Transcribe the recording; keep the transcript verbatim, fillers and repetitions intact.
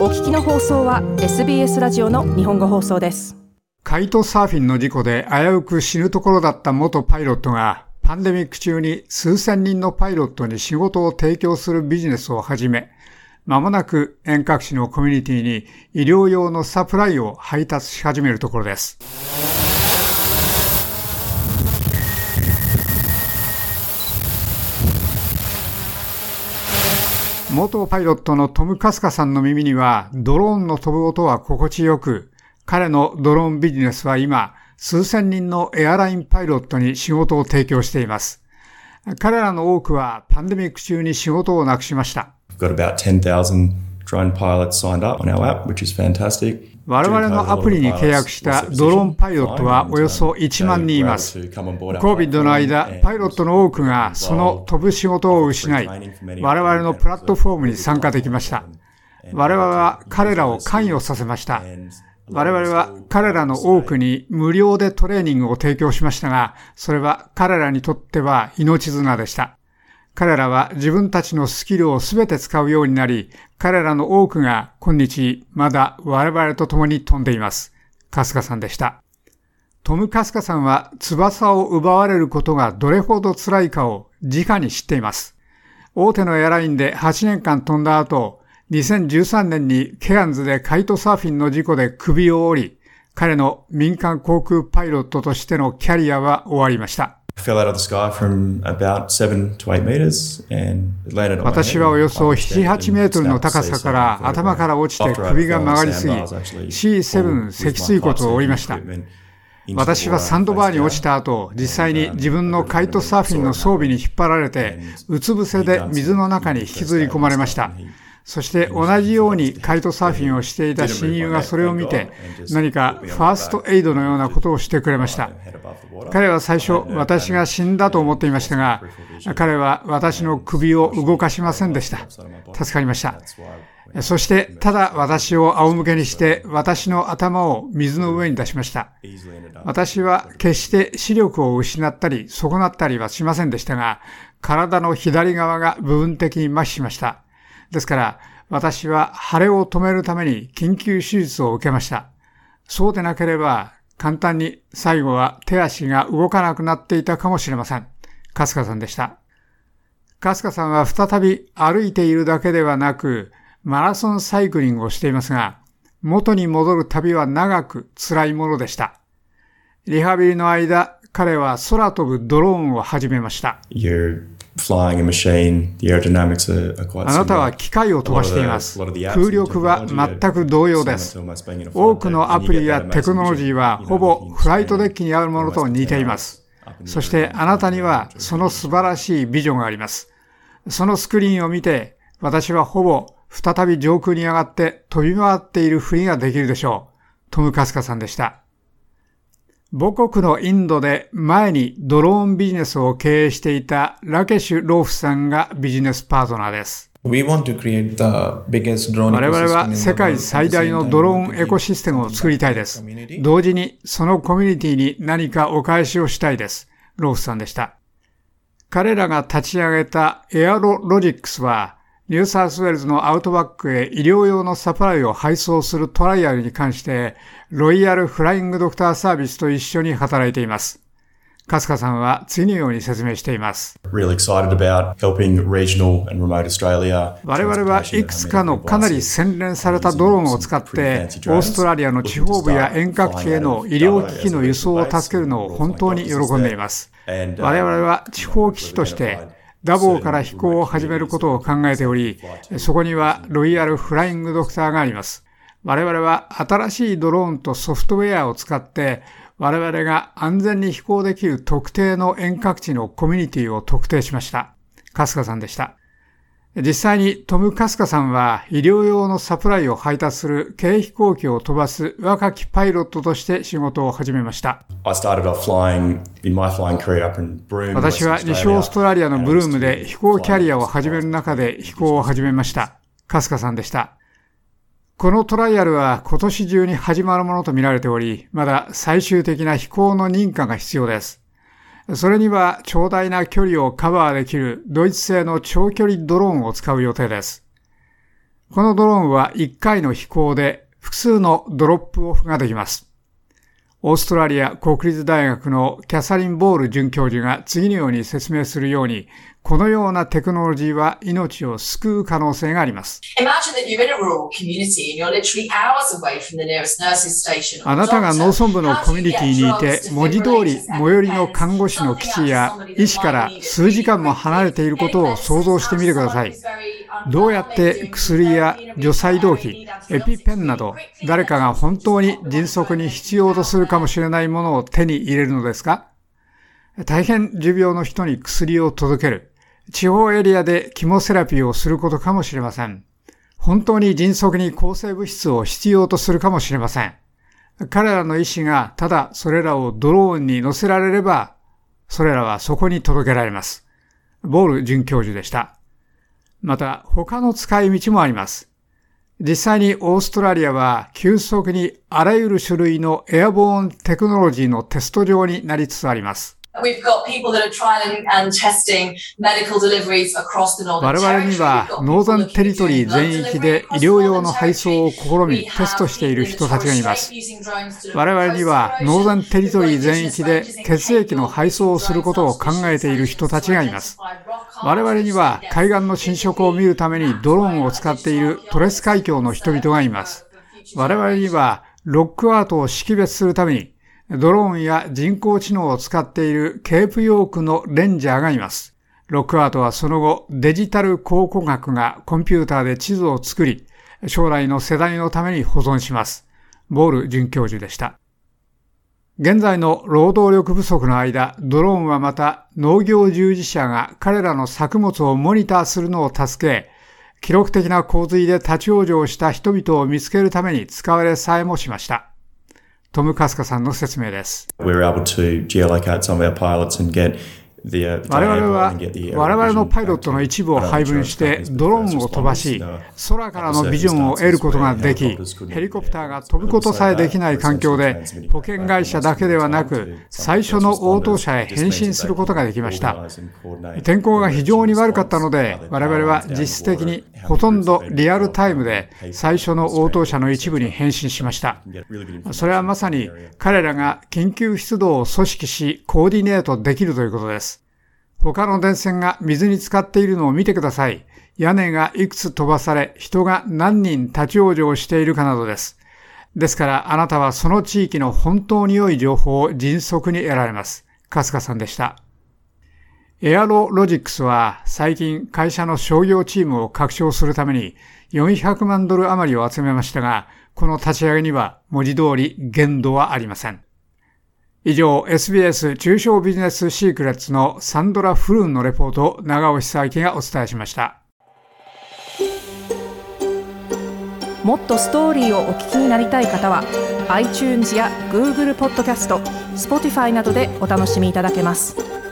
お聞きの放送は エスビーエス ラジオの日本語放送です。 カイトサーフィンの事故で危うく死ぬところだった元パイロットがパンデミック中に数千人のパイロットに仕事を提供するビジネスを始め、まもなく遠隔地のコミュニティに医療用のサプライを配達し始めるところです。元パイロットのトム・カスカさんの耳にはドローンの飛ぶ音は心地よく、彼のドローンビジネスは今、数千人のエアラインパイロットに仕事を提供しています。彼らの多くはパンデミック中に仕事をなくしました。我々のアプリに契約したドローンパイロットはおよそいちまんにんいます。COVID の間、パイロットの多くがその飛ぶ仕事を失い、我々のプラットフォームに参加できました。我々は彼らを関与させました。我々は彼らの多くに無料でトレーニングを提供しましたが、それは彼らにとっては命綱でした。彼らは自分たちのスキルをすべて使うようになり、彼らの多くが今日まだ我々と共に飛んでいます。カスカさんでした。トム・カスカさんは翼を奪われることがどれほど辛いかを直に知っています。大手のエアラインではちねんかん飛んだ後、にせんじゅうさんねんにケアンズでカイトサーフィンの事故で首を折り、彼の民間航空パイロットとしてのキャリアは終わりました。私はおよそなな、はちメートルの高さから頭から落ちて首が曲がりすぎ、シーセブン 脊椎骨を折りました。私はサンドバーに落ちた後、実際に自分のカイトサーフィンの装備に引っ張られて、うつ伏せで水の中に引きずり込まれました。そして同じようにカイトサーフィンをしていた親友がそれを見て、何かファーストエイドのようなことをしてくれました。彼は最初、私が死んだと思っていましたが、彼は私の首を動かしませんでした。助かりました。そして、ただ私を仰向けにして、私の頭を水の上に出しました。私は決して視力を失ったり、損なったりはしませんでしたが、体の左側が部分的に麻痺しました。ですから、私は腫れを止めるために緊急手術を受けました。そうでなければ、簡単に最後は手足が動かなくなっていたかもしれません。カスカさんでした。カスカさんは再び歩いているだけではなく、マラソンサイクリングをしていますが、元に戻る旅は長く辛いものでした。リハビリの間、彼は空飛ぶドローンを始めました。あなたは機械を飛ばしています。空力は全く同様です。多くのアプリやテクノロジーはほぼフライトデッキにあるものと似ています。そしてあなたにはその素晴らしいビジョンがあります。そのスクリーンを見て、私はほぼ再び上空に上がって飛び回っているふりができるでしょう。トム・カスカさんでした。母国のインドで前にドローンビジネスを経営していたラケシュ・ローフさんがビジネスパートナーです。我々は世界最大のドローンエコシステムを作りたいです。同時にそのコミュニティに何かお返しをしたいです。ローフさんでした。彼らが立ち上げたエアロロジックスはニューサウスウェールズのアウトバックへ医療用のサプライを配送するトライアルに関して、ロイヤルフライングドクターサービスと一緒に働いています。カスカさんは次のように説明しています。我々はいくつかのかなり洗練されたドローンを使って、オーストラリアの地方部や遠隔地への医療機器の輸送を助けるのを本当に喜んでいます。我々は地方基地として、ダボーから飛行を始めることを考えており、そこにはロイヤルフライングドクターがあります。我々は新しいドローンとソフトウェアを使って、我々が安全に飛行できる特定の遠隔地のコミュニティを特定しました。カスカさんでした。実際にトム・カスカさんは医療用のサプライを配達する軽飛行機を飛ばす若きパイロットとして仕事を始めました。私は西オーストラリアのブルームで飛行キャリアを始める中で飛行を始めました。カスカさんでした。このトライアルは今年中に始まるものと見られており、まだ最終的な飛行の認可が必要です。それには長大な距離をカバーできるドイツ製の長距離ドローンを使う予定です。 このドローンはいっかいの飛行で複数のドロップオフができます。オーストラリア国立大学のキャサリン・ボール准教授が次のように説明するように、このようなテクノロジーは命を救う可能性があります。あなたが農村部のコミュニティにいて、文字通り最寄りの看護師の基地や医師から数時間も離れていることを想像してみてください。どうやって薬や除細動器、エピペンなど、誰かが本当に迅速に必要とするかもしれないものを手に入れるのですか？大変重病の人に薬を届ける。地方エリアでキモセラピーをすることかもしれません。本当に迅速に抗生物質を必要とするかもしれません。彼らの医師がただそれらをドローンに乗せられれば、それらはそこに届けられます。ボール准教授でした。また他の使い道もあります。実際にオーストラリアは急速にあらゆる種類のエアボーンテクノロジーのテスト場になりつつあります。我々にはノーザンテリトリー全域で医療用の配送を試みテストしている人たちがいます。我々にはノーザンテリトリー全域で血液の配送をすることを考えている人たちがいます。我々には海岸の浸食を見るためにドローンを使っているトレス海峡の人々がいます。我々にはロックアートを識別するためにドローンや人工知能を使っているケープヨークのレンジャーがいます。ロックアートはその後、デジタル考古学がコンピューターで地図を作り、将来の世代のために保存します。ボール准教授でした。現在の労働力不足の間、ドローンはまた農業従事者が彼らの作物をモニターするのを助け、記録的な洪水で立ち往生した人々を見つけるために使われさえもしました。トム・カスカさんの説明です。我々は我々のパイロットの一部を配分してドローンを飛ばし、空からのビジョンを得ることができ、ヘリコプターが飛ぶことさえできない環境で保険会社だけではなく最初の応答者へ返信することができました。天候が非常に悪かったので我々は実質的にほとんどリアルタイムで最初の応答者の一部に返信しました。それはまさに彼らが緊急出動を組織しコーディネートできるということです。他の電線が水に浸かっているのを見てください。屋根がいくつ飛ばされ、人が何人立ち往生しているかなどです。ですからあなたはその地域の本当に良い情報を迅速に得られます。カスカさんでした。エアロロジックスは最近会社の商業チームを拡張するためによんひゃくまんドル余りを集めましたが、この立ち上げには文字通り限度はありません。以上、エスビーエス 中小ビジネスシークレッツのサンドラ・フルーンのレポートを長尾久明がお伝えしました。 もっとストーリーをお聞きになりたい方は iTunes や Google ポッドキャスト、Spotify などでお楽しみいただけます。